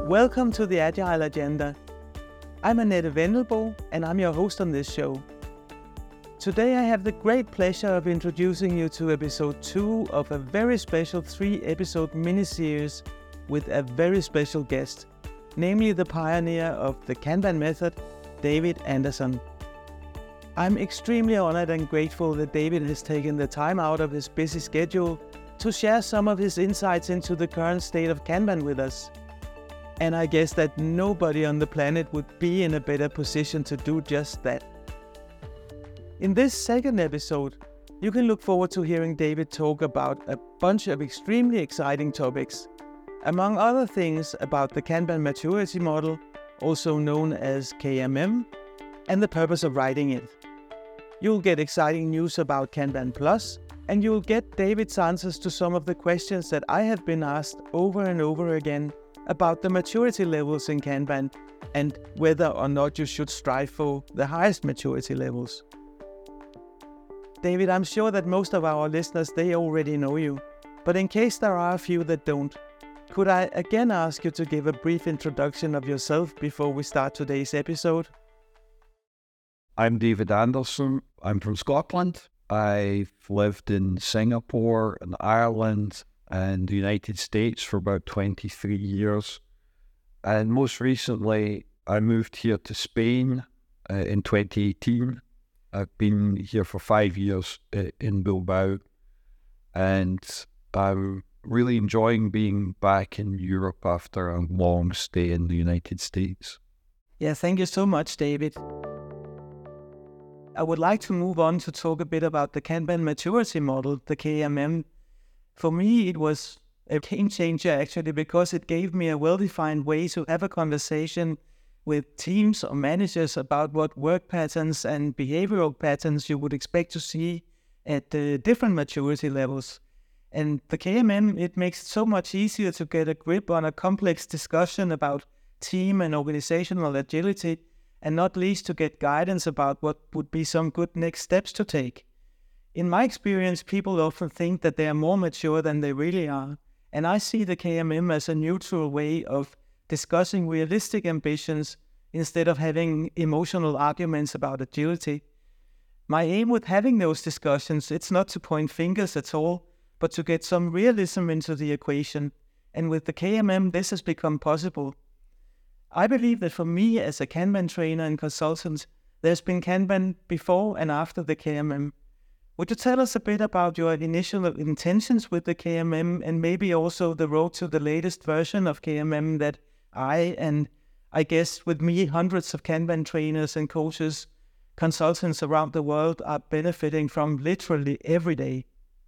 Welcome to the Agile Agenda. I'm Annette Vendelbo and I'm your host on this show. Today I have the great pleasure of introducing you to episode 2 of a very special 3-episode mini-series with a very special guest, namely the pioneer of the Kanban method, David Anderson. I'm extremely honored and grateful that David has taken the time out of his busy schedule to share some of his insights into the current state of Kanban with us. And I guess that nobody on the planet would be in a better position to do just that. In this second episode, you can look forward to hearing David talk about a bunch of extremely exciting topics. Among other things about the Kanban maturity model, also known as KMM, and the purpose of writing it. You'll get exciting news about Kanban Plus, and you'll get David's answers to some of the questions that I have been asked over and over again about the maturity levels in Kanban and whether or not you should strive for the highest maturity levels. David, I'm sure that most of our listeners, they already know you, but in case there are a few that don't, could I again ask you to give a brief introduction of yourself before we start today's episode? I'm David Anderson. I'm from Scotland. I've lived in Singapore and Ireland and the United States for about 23 years. And most recently, I moved here to Spain in 2018. I've been here for 5 years in Bilbao, and I'm really enjoying being back in Europe after a long stay in the United States. Yeah, thank you so much, David. I would like to move on to talk a bit about the Kanban maturity model, the KMM. For me, it was a game changer actually, because it gave me a well-defined way to have a conversation with teams or managers about what work patterns and behavioral patterns you would expect to see at the different maturity levels. And the KMM, it makes it so much easier to get a grip on a complex discussion about team and organizational agility, and not least to get guidance about what would be some good next steps to take. In my experience, people often think that they are more mature than they really are, and I see the KMM as a neutral way of discussing realistic ambitions instead of having emotional arguments about agility. My aim with having those discussions, it's not to point fingers at all, but to get some realism into the equation, and with the KMM this has become possible. I believe that for me as a Kanban trainer and consultant, there's been Kanban before and after the KMM. Would you tell us a bit about your initial intentions with the KMM and maybe also the road to the latest version of KMM that I guess with me, hundreds of Kanban trainers and coaches, consultants around the world are benefiting from literally every day?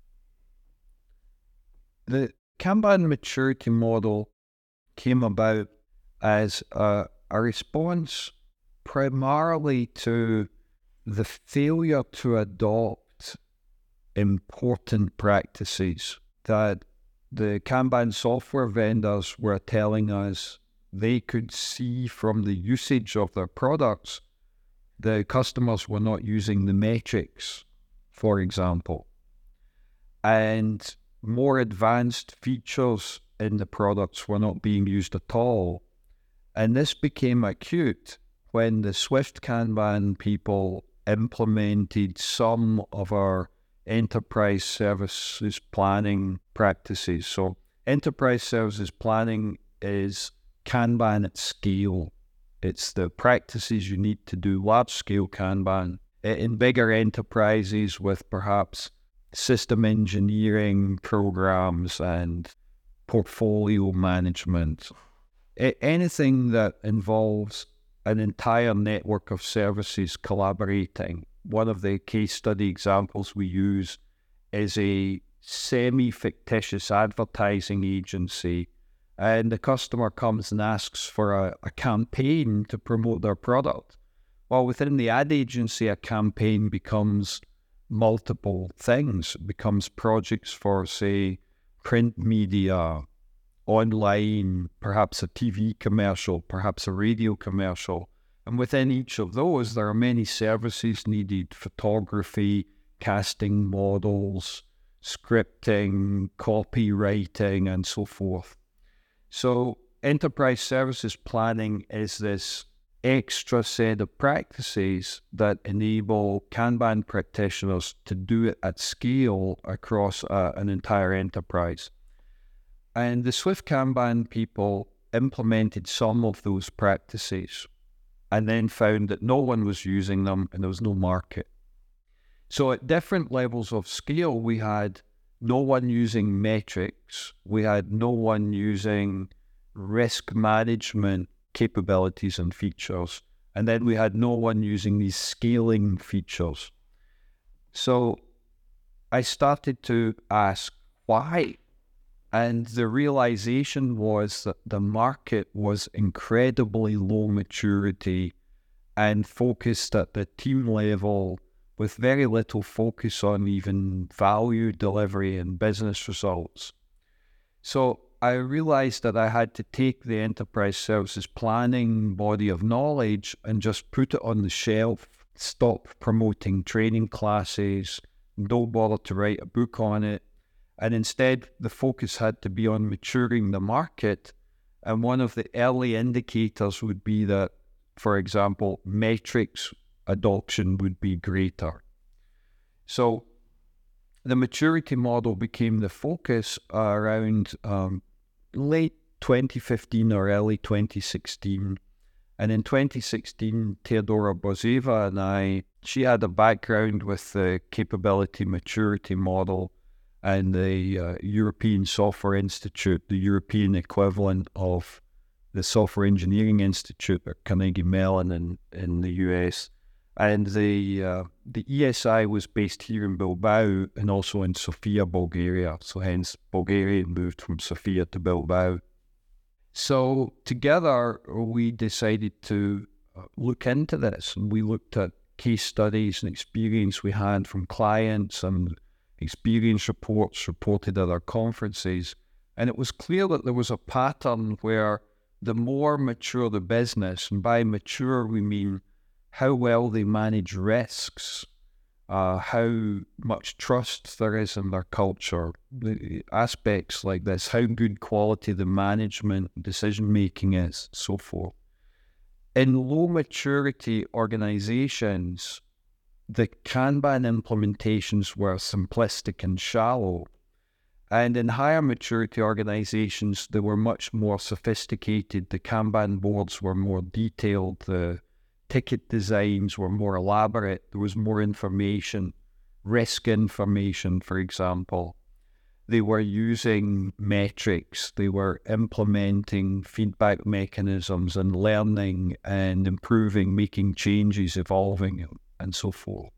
The Kanban maturity model came about as a response primarily to the failure to adopt important practices that the Kanban software vendors were telling us they could see from the usage of their products. The customers were not using the metrics, for example, and more advanced features in the products were not being used at all. And this became acute when the Swift Kanban people implemented some of our enterprise services planning practices. So enterprise services planning is Kanban at scale. It's the practices you need to do large-scale Kanban in bigger enterprises with perhaps system engineering programs and portfolio management. Anything that involves an entire network of services collaborating. One of the case study examples we use is a semi-fictitious advertising agency, and the customer comes and asks for a campaign to promote their product. Well, within the ad agency, a campaign becomes multiple things. It becomes projects for, say, print media, online, perhaps a TV commercial, perhaps a radio commercial. And within each of those, there are many services needed: photography, casting models, scripting, copywriting, and so forth. So enterprise services planning is this extra set of practices that enable Kanban practitioners to do it at scale across an entire enterprise. And the Swift Kanban people implemented some of those practices and then found that no one was using them and there was no market. So at different levels of scale, we had no one using metrics, we had no one using risk management capabilities and features, and then we had no one using these scaling features. So I started to ask why, and the realization was that the market was incredibly low maturity and focused at the team level with very little focus on even value delivery and business results. So I realized that I had to take the enterprise services planning body of knowledge and just put it on the shelf, stop promoting training classes, don't bother to write a book on it. And instead, the focus had to be on maturing the market. And one of the early indicators would be that, for example, metrics adoption would be greater. So the maturity model became the focus around late 2015 or early 2016. And in 2016, Teodora Bozeva and she had a background with the capability maturity model and the European Software Institute, the European equivalent of the Software Engineering Institute at Carnegie Mellon in the US. And the ESI was based here in Bilbao and also in Sofia, Bulgaria. So hence Bulgaria moved from Sofia to Bilbao. So together we decided to look into this. And we looked at case studies and experience we had from clients and experience reports reported at our conferences. And it was clear that there was a pattern where the more mature the business, and by mature we mean how well they manage risks, how much trust there is in their culture, the aspects like this, how good quality the management decision-making is, so forth. In low maturity organizations, the Kanban implementations were simplistic and shallow. And in higher maturity organizations, they were much more sophisticated. The Kanban boards were more detailed. The ticket designs were more elaborate. There was more information, risk information, for example. They were using metrics. They were implementing feedback mechanisms and learning and improving, making changes, evolving, and so forth.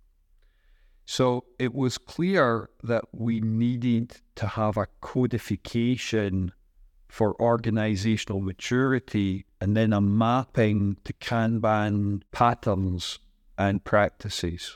So it was clear that we needed to have a codification for organizational maturity and then a mapping to Kanban patterns and practices.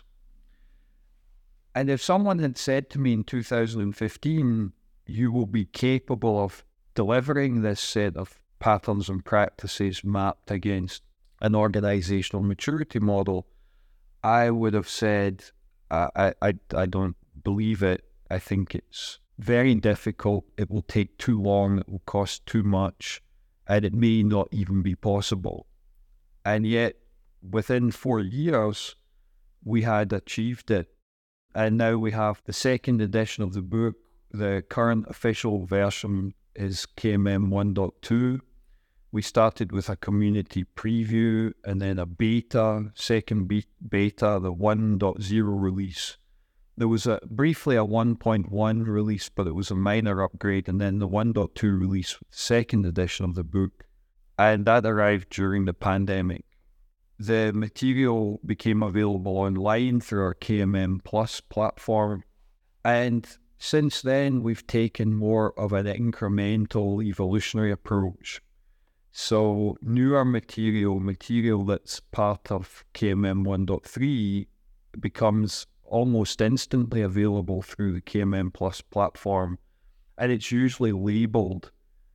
And if someone had said to me in 2015, you will be capable of delivering this set of patterns and practices mapped against an organizational maturity model, I would have said, I don't believe it. I think it's very difficult. It will take too long. It will cost too much, and it may not even be possible. And yet, within 4 years, we had achieved it. And now we have the second edition of the book. The current official version is KMM 1.2. We started with a community preview and then a beta, second beta, the 1.0 release. There was briefly a 1.1 release, but it was a minor upgrade, and then the 1.2 release, second edition of the book, and that arrived during the pandemic. The material became available online through our KMM Plus platform, and since then we've taken more of an incremental evolutionary approach. So newer material that's part of KMM 1.3 becomes almost instantly available through the KMM Plus platform, and it's usually labeled.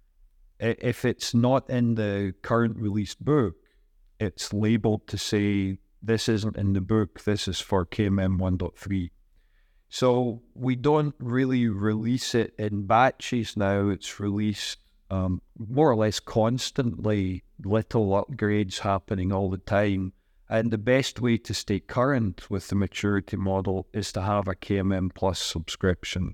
If it's not in the current released book, it's labeled to say, this isn't in the book, this is for KMM 1.3. So we don't really release it in batches now. It's released more or less constantly, little upgrades happening all the time. And the best way to stay current with the maturity model is to have a KMM Plus subscription.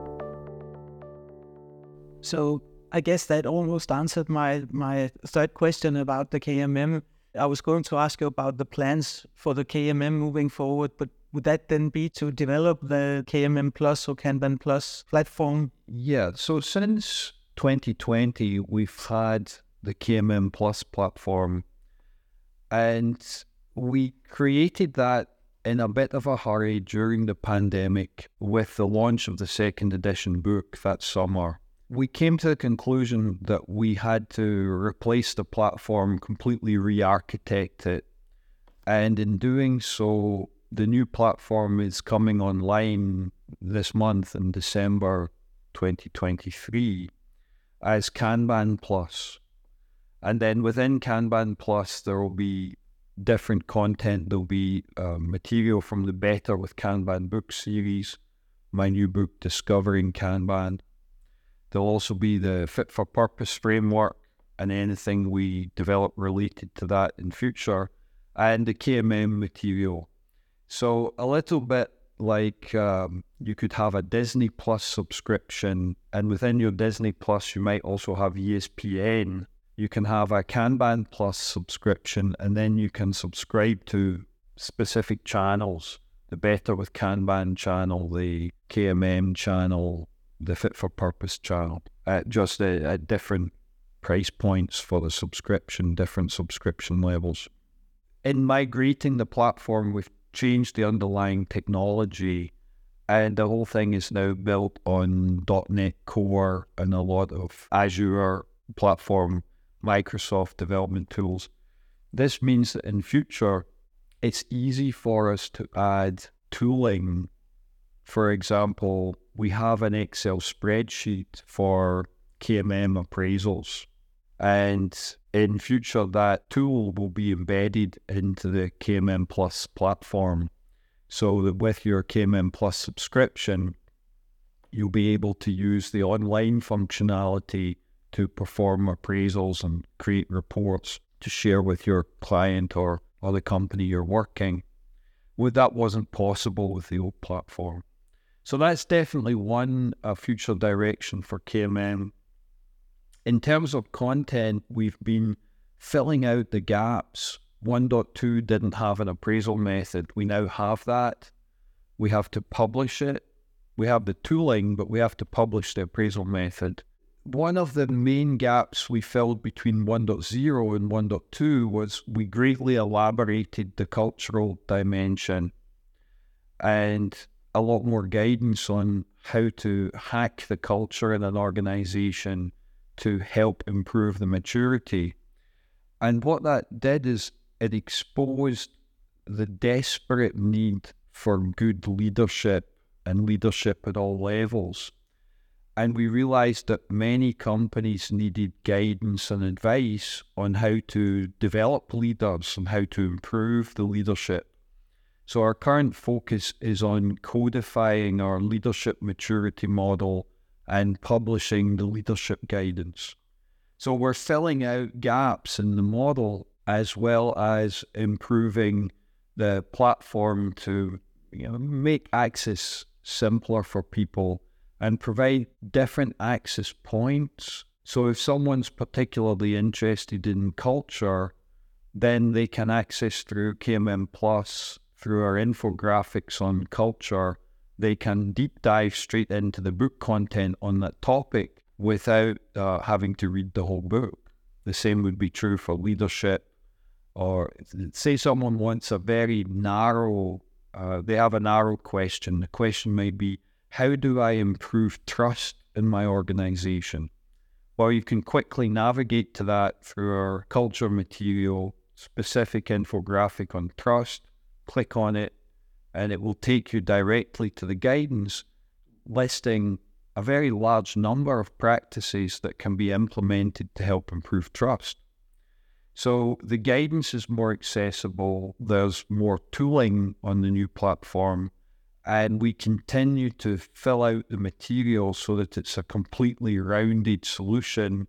So I guess that almost answered my third question about the KMM. I was going to ask you about the plans for the KMM moving forward, but would that then be to develop the KMM Plus or Kanban Plus platform? Yeah, so since 2020, we've had the KMM Plus platform, and we created that in a bit of a hurry during the pandemic with the launch of the second edition book that summer. We came to the conclusion that we had to replace the platform, completely re-architect it. And in doing so, the new platform is coming online this month in December 2023 as Kanban Plus. And then within Kanban Plus, there will be different content. There'll be material from the Better with Kanban book series, my new book, Discovering Kanban. There'll also be the Fit for Purpose framework and anything we develop related to that in future, and the KMM material. So a little bit like you could have a Disney Plus subscription, and within your Disney Plus, you might also have ESPN. You can have a Kanban Plus subscription, and then you can subscribe to specific channels, the Better with Kanban channel, the KMM channel, the Fit for Purpose channel, at different price points for the subscription, different subscription levels. In migrating the platform, we've changed the underlying technology, and the whole thing is now built on .NET Core and a lot of Azure platform, Microsoft development tools. This means that in future, it's easy for us to add tooling. For example, we have an Excel spreadsheet for KMM appraisals, and in future that tool will be embedded into the KMM Plus platform, so that with your KMM Plus subscription, you'll be able to use the online functionality to perform appraisals and create reports to share with your client or the company you're working with. That wasn't possible with the old platform. So that's definitely one future direction for KMM. In terms of content, we've been filling out the gaps. 1.2 didn't have an appraisal method. We now have that. We have to publish it. We have the tooling, but we have to publish the appraisal method. One of the main gaps we filled between 1.0 and 1.2 was we greatly elaborated the cultural dimension and a lot more guidance on how to hack the culture in an organization to help improve the maturity. And what that did is it exposed the desperate need for good leadership and leadership at all levels. And we realized that many companies needed guidance and advice on how to develop leaders and how to improve the leadership. So our current focus is on codifying our leadership maturity model and publishing the leadership guidance. So we're filling out gaps in the model as well as improving the platform to make access simpler for people and provide different access points. So if someone's particularly interested in culture, then they can access through KMM Plus, through our infographics on culture. They can deep dive straight into the book content on that topic without having to read the whole book. The same would be true for leadership. Or say someone wants a very narrow, they have a narrow question. The question might be, how do I improve trust in my organization? Well, you can quickly navigate to that through our culture material, specific infographic on trust. Click on it, and it will take you directly to the guidance listing a very large number of practices that can be implemented to help improve trust. So the guidance is more accessible, there's more tooling on the new platform, and we continue to fill out the material so that it's a completely rounded solution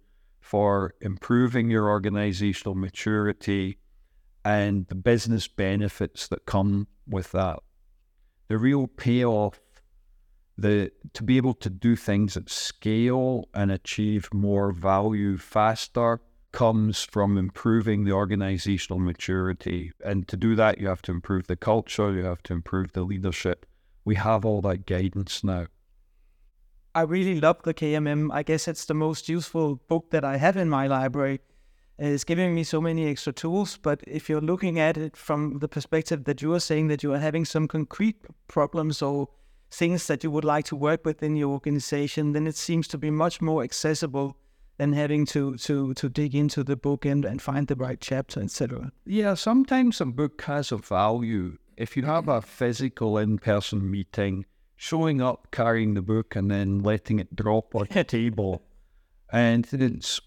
for improving your organizational maturity and the business benefits that come with that. The real payoff, to be able to do things at scale and achieve more value faster, comes from improving the organizational maturity. And to do that, you have to improve the culture, you have to improve the leadership. We have all that guidance now. I really love the KMM. I guess it's the most useful book that I have in my library. It's giving me so many extra tools, but if you're looking at it from the perspective that you are saying that you are having some concrete problems or things that you would like to work with in your organization, then it seems to be much more accessible than having to dig into the book and find the right chapter, etc. Yeah, sometimes a book has a value. If you have a physical in-person meeting, showing up, carrying the book, and then letting it drop on the table, and it's,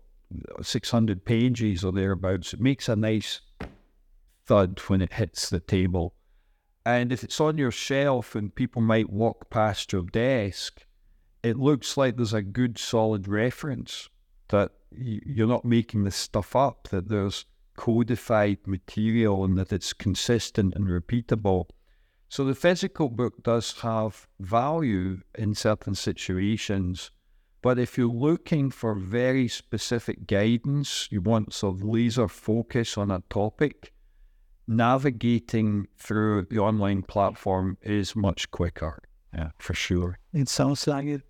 600 pages or thereabouts, it makes a nice thud when it hits the table. And if it's on your shelf and people might walk past your desk, it looks like there's a good solid reference that you're not making this stuff up, that there's codified material and that it's consistent and repeatable. So the physical book does have value in certain situations, but if you're looking for very specific guidance, you want sort of laser focus on a topic, navigating through the online platform is much quicker. Yeah, for sure. It sounds like it.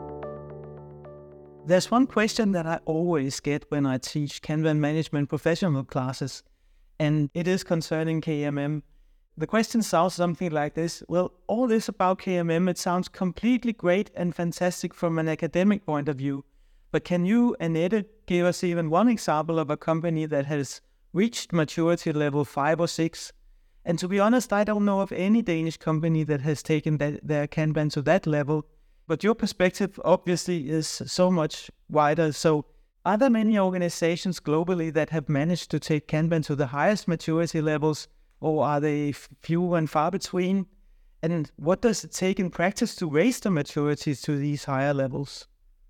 There's one question that I always get when I teach Kanban management professional classes, and it is concerning KMM. The question sounds something like this. Well, all this about KMM, it sounds completely great and fantastic from an academic point of view. But can you, Annette, give us even one example of a company that has reached maturity level 5 or 6? And to be honest, I don't know of any Danish company that has taken their Kanban to that level. But your perspective obviously is so much wider. So are there many organizations globally that have managed to take Kanban to the highest maturity levels, or are they few and far between? And what does it take in practice to raise the maturity to these higher levels?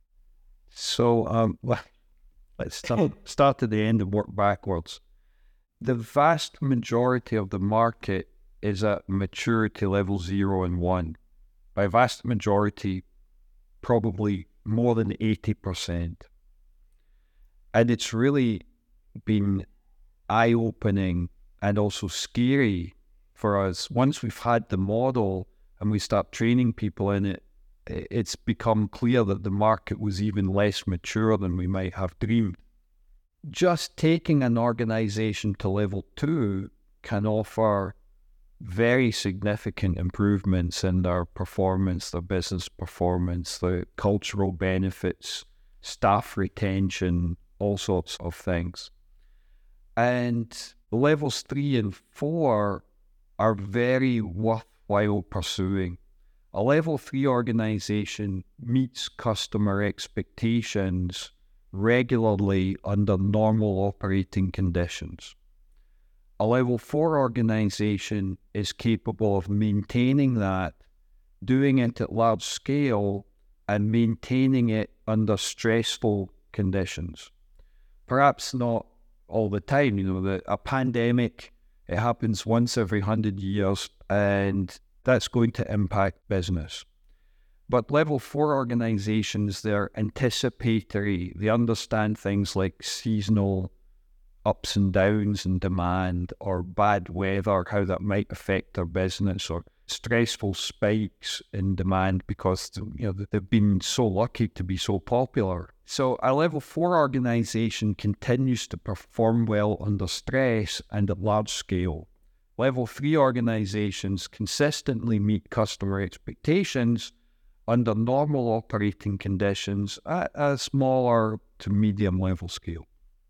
So let's start at the end and work backwards. The vast majority of the market is at maturity level 0 and 1. By vast majority, probably more than 80%. And it's really been eye-opening and also scary for us. Once we've had the model and we start training people in it, it's become clear that the market was even less mature than we might have dreamed. Just taking an organization to level 2 can offer very significant improvements in their performance, their business performance, the cultural benefits, staff retention, all sorts of things. And levels 3 and 4 are very worthwhile pursuing. A level 3 organization meets customer expectations regularly under normal operating conditions. A level 4 organization is capable of maintaining that, doing it at large scale, and maintaining it under stressful conditions. Perhaps not all the time. A pandemic, it happens once every 100 years, and that's going to impact business. But level 4 organizations, they're anticipatory. They understand things like seasonal ups and downs in demand, or bad weather, how that might affect their business, or stressful spikes in demand because they've been so lucky to be so popular. So a level 4 organization continues to perform well under stress and at large scale. Level 3 organizations consistently meet customer expectations under normal operating conditions at a smaller to medium level scale.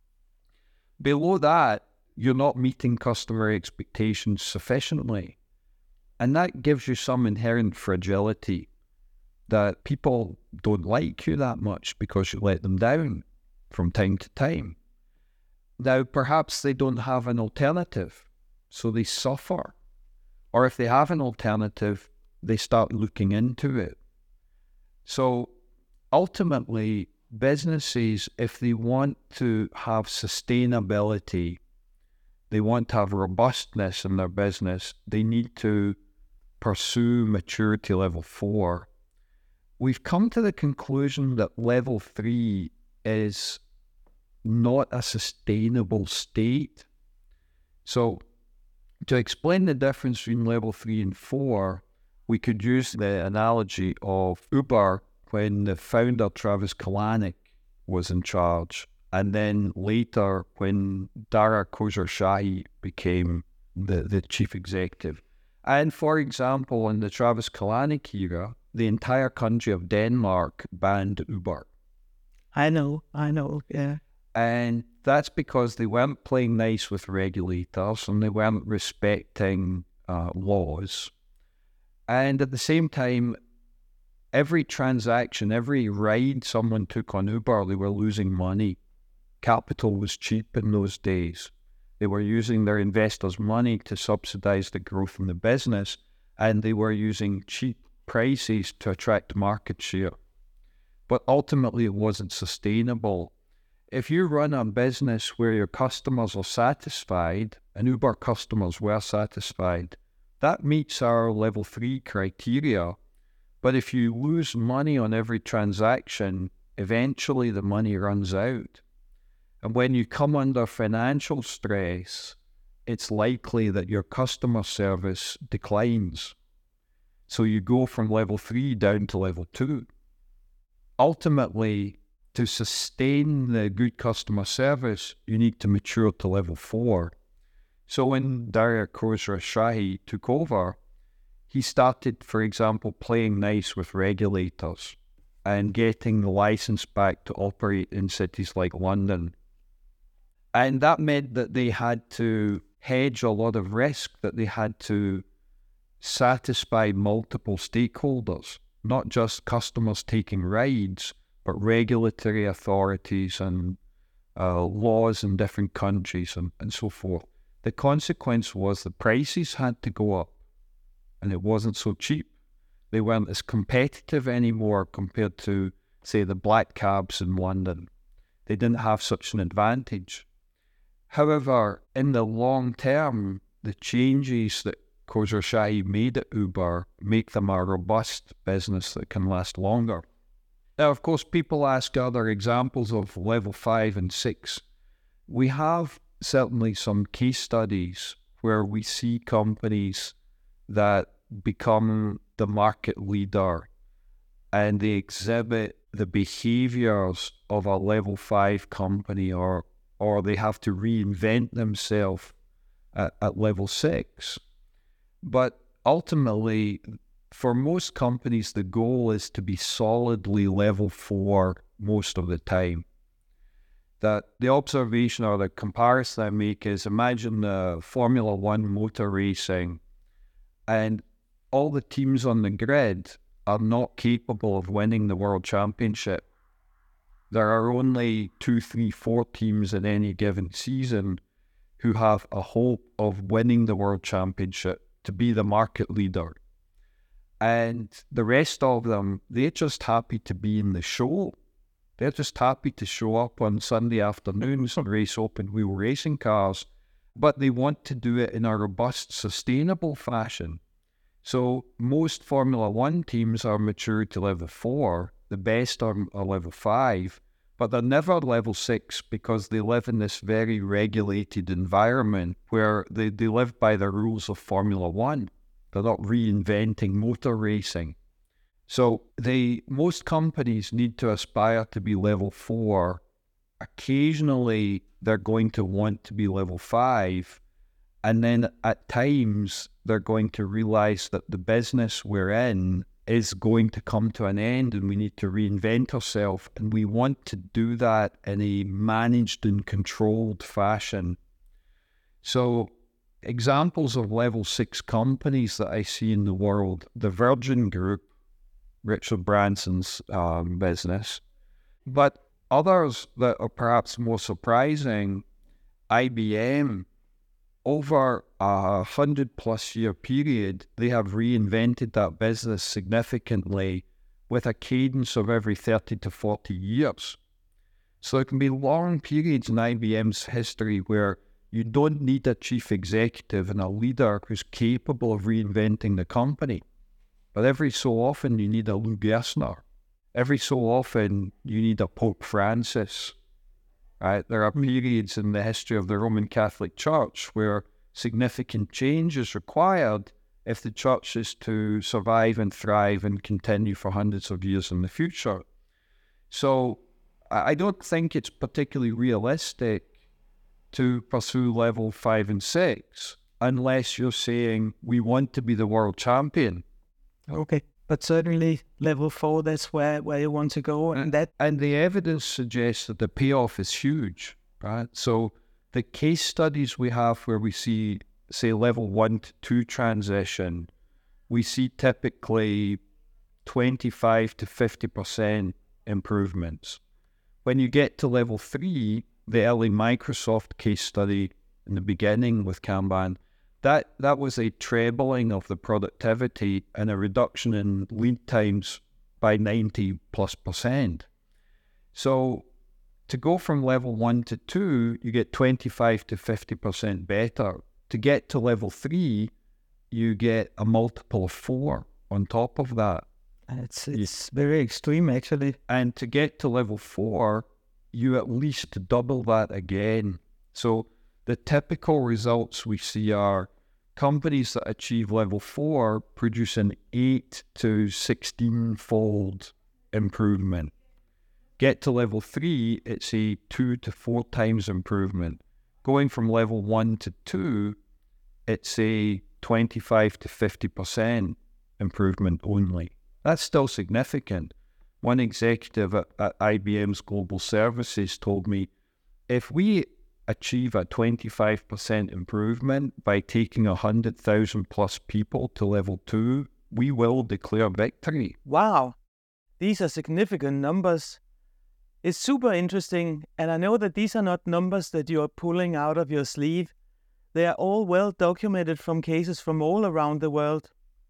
Below that, you're not meeting customer expectations sufficiently. And that gives you some inherent fragility, that people don't like you that much because you let them down from time to time. Now, perhaps they don't have an alternative, so they suffer. Or if they have an alternative, they start looking into it. So ultimately, businesses, if they want to have sustainability, they want to have robustness in their business, they need to pursue maturity level 4. We've come to the conclusion that level 3 is not a sustainable state. So to explain the difference between level 3 and 4, we could use the analogy of Uber when the founder, Travis Kalanick, was in charge, and then later when Dara Khosrowshahi became the chief executive. And for example, in the Travis Kalanick era, the entire country of Denmark banned Uber. I know, yeah. And that's because they weren't playing nice with regulators and they weren't respecting laws. And at the same time, every transaction, every ride someone took on Uber, they were losing money. Capital was cheap in those days. They were using their investors' money to subsidize the growth in the business, and they were using cheap prices to attract market share. But ultimately, it wasn't sustainable. If you run a business where your customers are satisfied, and Uber customers were satisfied, that meets our level 3 criteria. But if you lose money on every transaction, eventually the money runs out. And when you come under financial stress, it's likely that your customer service declines. So you go from level 3 down to level 2. Ultimately, to sustain the good customer service, you need to mature to level 4. So when Dara Khosrowshahi took over, he started, for example, playing nice with regulators and getting the license back to operate in cities like London. And that meant that they had to hedge a lot of risk, that they had to satisfy multiple stakeholders, not just customers taking rides, but regulatory authorities and laws in different countries and so forth. The consequence was the prices had to go up, and it wasn't so cheap. They weren't as competitive anymore compared to, say, the black cabs in London. They didn't have such an advantage. However, in the long term, the changes that Khosrowshahi made at Uber make them a robust business that can last longer. Now, of course, people ask other examples of level 5 and 6. We have certainly some case studies where we see companies that become the market leader and they exhibit the behaviors of a level 5 company or they have to reinvent themselves at level 6. But ultimately, for most companies, the goal is to be solidly level 4 most of the time. That the observation or the comparison I make is, imagine Formula One motor racing, and all the teams on the grid are not capable of winning the world championship. There are only 2, 3, 4 teams in any given season who have a hope of winning the world championship, to be the market leader. And the rest of them, they're just happy to be in the show. They're just happy to show up on Sunday afternoons and race open wheel racing cars, but they want to do it in a robust, sustainable fashion. So most Formula One teams are mature to level 4, the best are level 5, but they're never level 6 because they live in this very regulated environment where they live by the rules of Formula One. They're not reinventing motor racing. So most companies need to aspire to be level 4. Occasionally, they're going to want to be level 5. And then at times, they're going to realize that the business we're in is going to come to an end and we need to reinvent ourselves. And we want to do that in a managed and controlled fashion. So examples of level 6 companies that I see in the world, the Virgin Group, Richard Branson's business, but others that are perhaps more surprising, IBM, over a 100+ year period, they have reinvented that business significantly with a cadence of every 30 to 40 years. So there can be long periods in IBM's history where you don't need a chief executive and a leader who's capable of reinventing the company. But every so often you need a Lou Gerstner. Every so often you need a Pope Francis. Right? There are periods in the history of the Roman Catholic Church where significant change is required if the church is to survive and thrive and continue for hundreds of years in the future. So I don't think it's particularly realistic to pursue level 5 and 6 unless you're saying we want to be the world champion. Okay, but certainly level 4, that's where you want to go. And the evidence suggests that the payoff is huge, right? So the case studies we have where we see, say, level 1 to 2 transition, we see typically 25 to 50% improvements. When you get to level 3, the early Microsoft case study in the beginning with Kanban, that was a trebling of the productivity and a reduction in lead times by 90+%. So to go from level 1 to 2, you get 25 to 50% better. To get to level 3, you get a multiple of 4 on top of that. It's very extreme, actually. And to get to level 4, you at least double that again. So the typical results we see are companies that achieve level 4 produce an 8 to 16-fold improvement. Get to level 3, it's a 2 to 4 times improvement. Going from level 1 to 2, it's a 25 to 50% improvement only. That's still significant. One executive at IBM's Global Services told me, if we achieve a 25% improvement by taking 100,000 plus people to level 2, we will declare victory. Wow, these are significant numbers. It's super interesting, and I know that these are not numbers that you are pulling out of your sleeve. They are all well documented from cases from all around the world.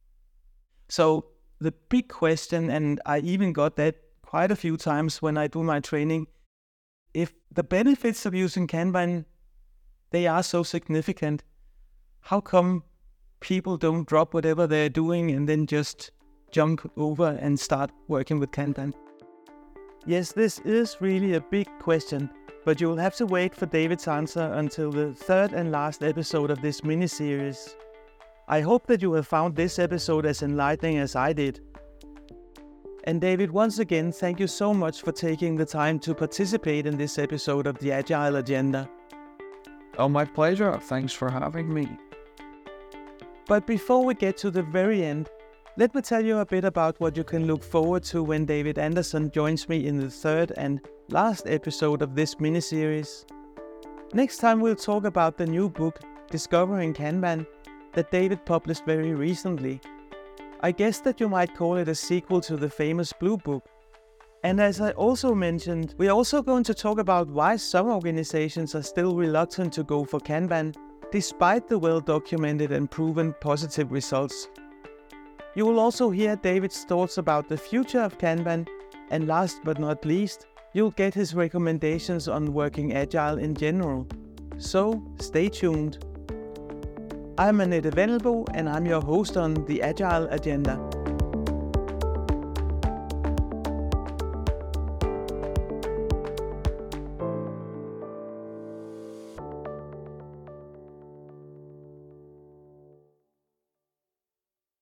So the big question, and I even got that quite a few times when I do my training, if the benefits of using Kanban, they are so significant, how come people don't drop whatever they're doing and then just jump over and start working with Kanban? Yes, this is really a big question, but you will have to wait for David's answer until the third and last episode of this mini-series. I hope that you have found this episode as enlightening as I did. And David, once again, thank you so much for taking the time to participate in this episode of the Agile Agenda. Oh, my pleasure. Thanks for having me. But before we get to the very end, let me tell you a bit about what you can look forward to when David Anderson joins me in the third and last episode of this mini-series. Next time we'll talk about the new book, Discovering Kanban, that David published very recently. I guess that you might call it a sequel to the famous Blue Book. And as I also mentioned, we're also going to talk about why some organizations are still reluctant to go for Kanban, despite the well-documented and proven positive results. You will also hear David's thoughts about the future of Kanban, and last but not least, you'll get his recommendations on working Agile in general. So, stay tuned. I'm Annette Vendelbo, and I'm your host on the Agile Agenda.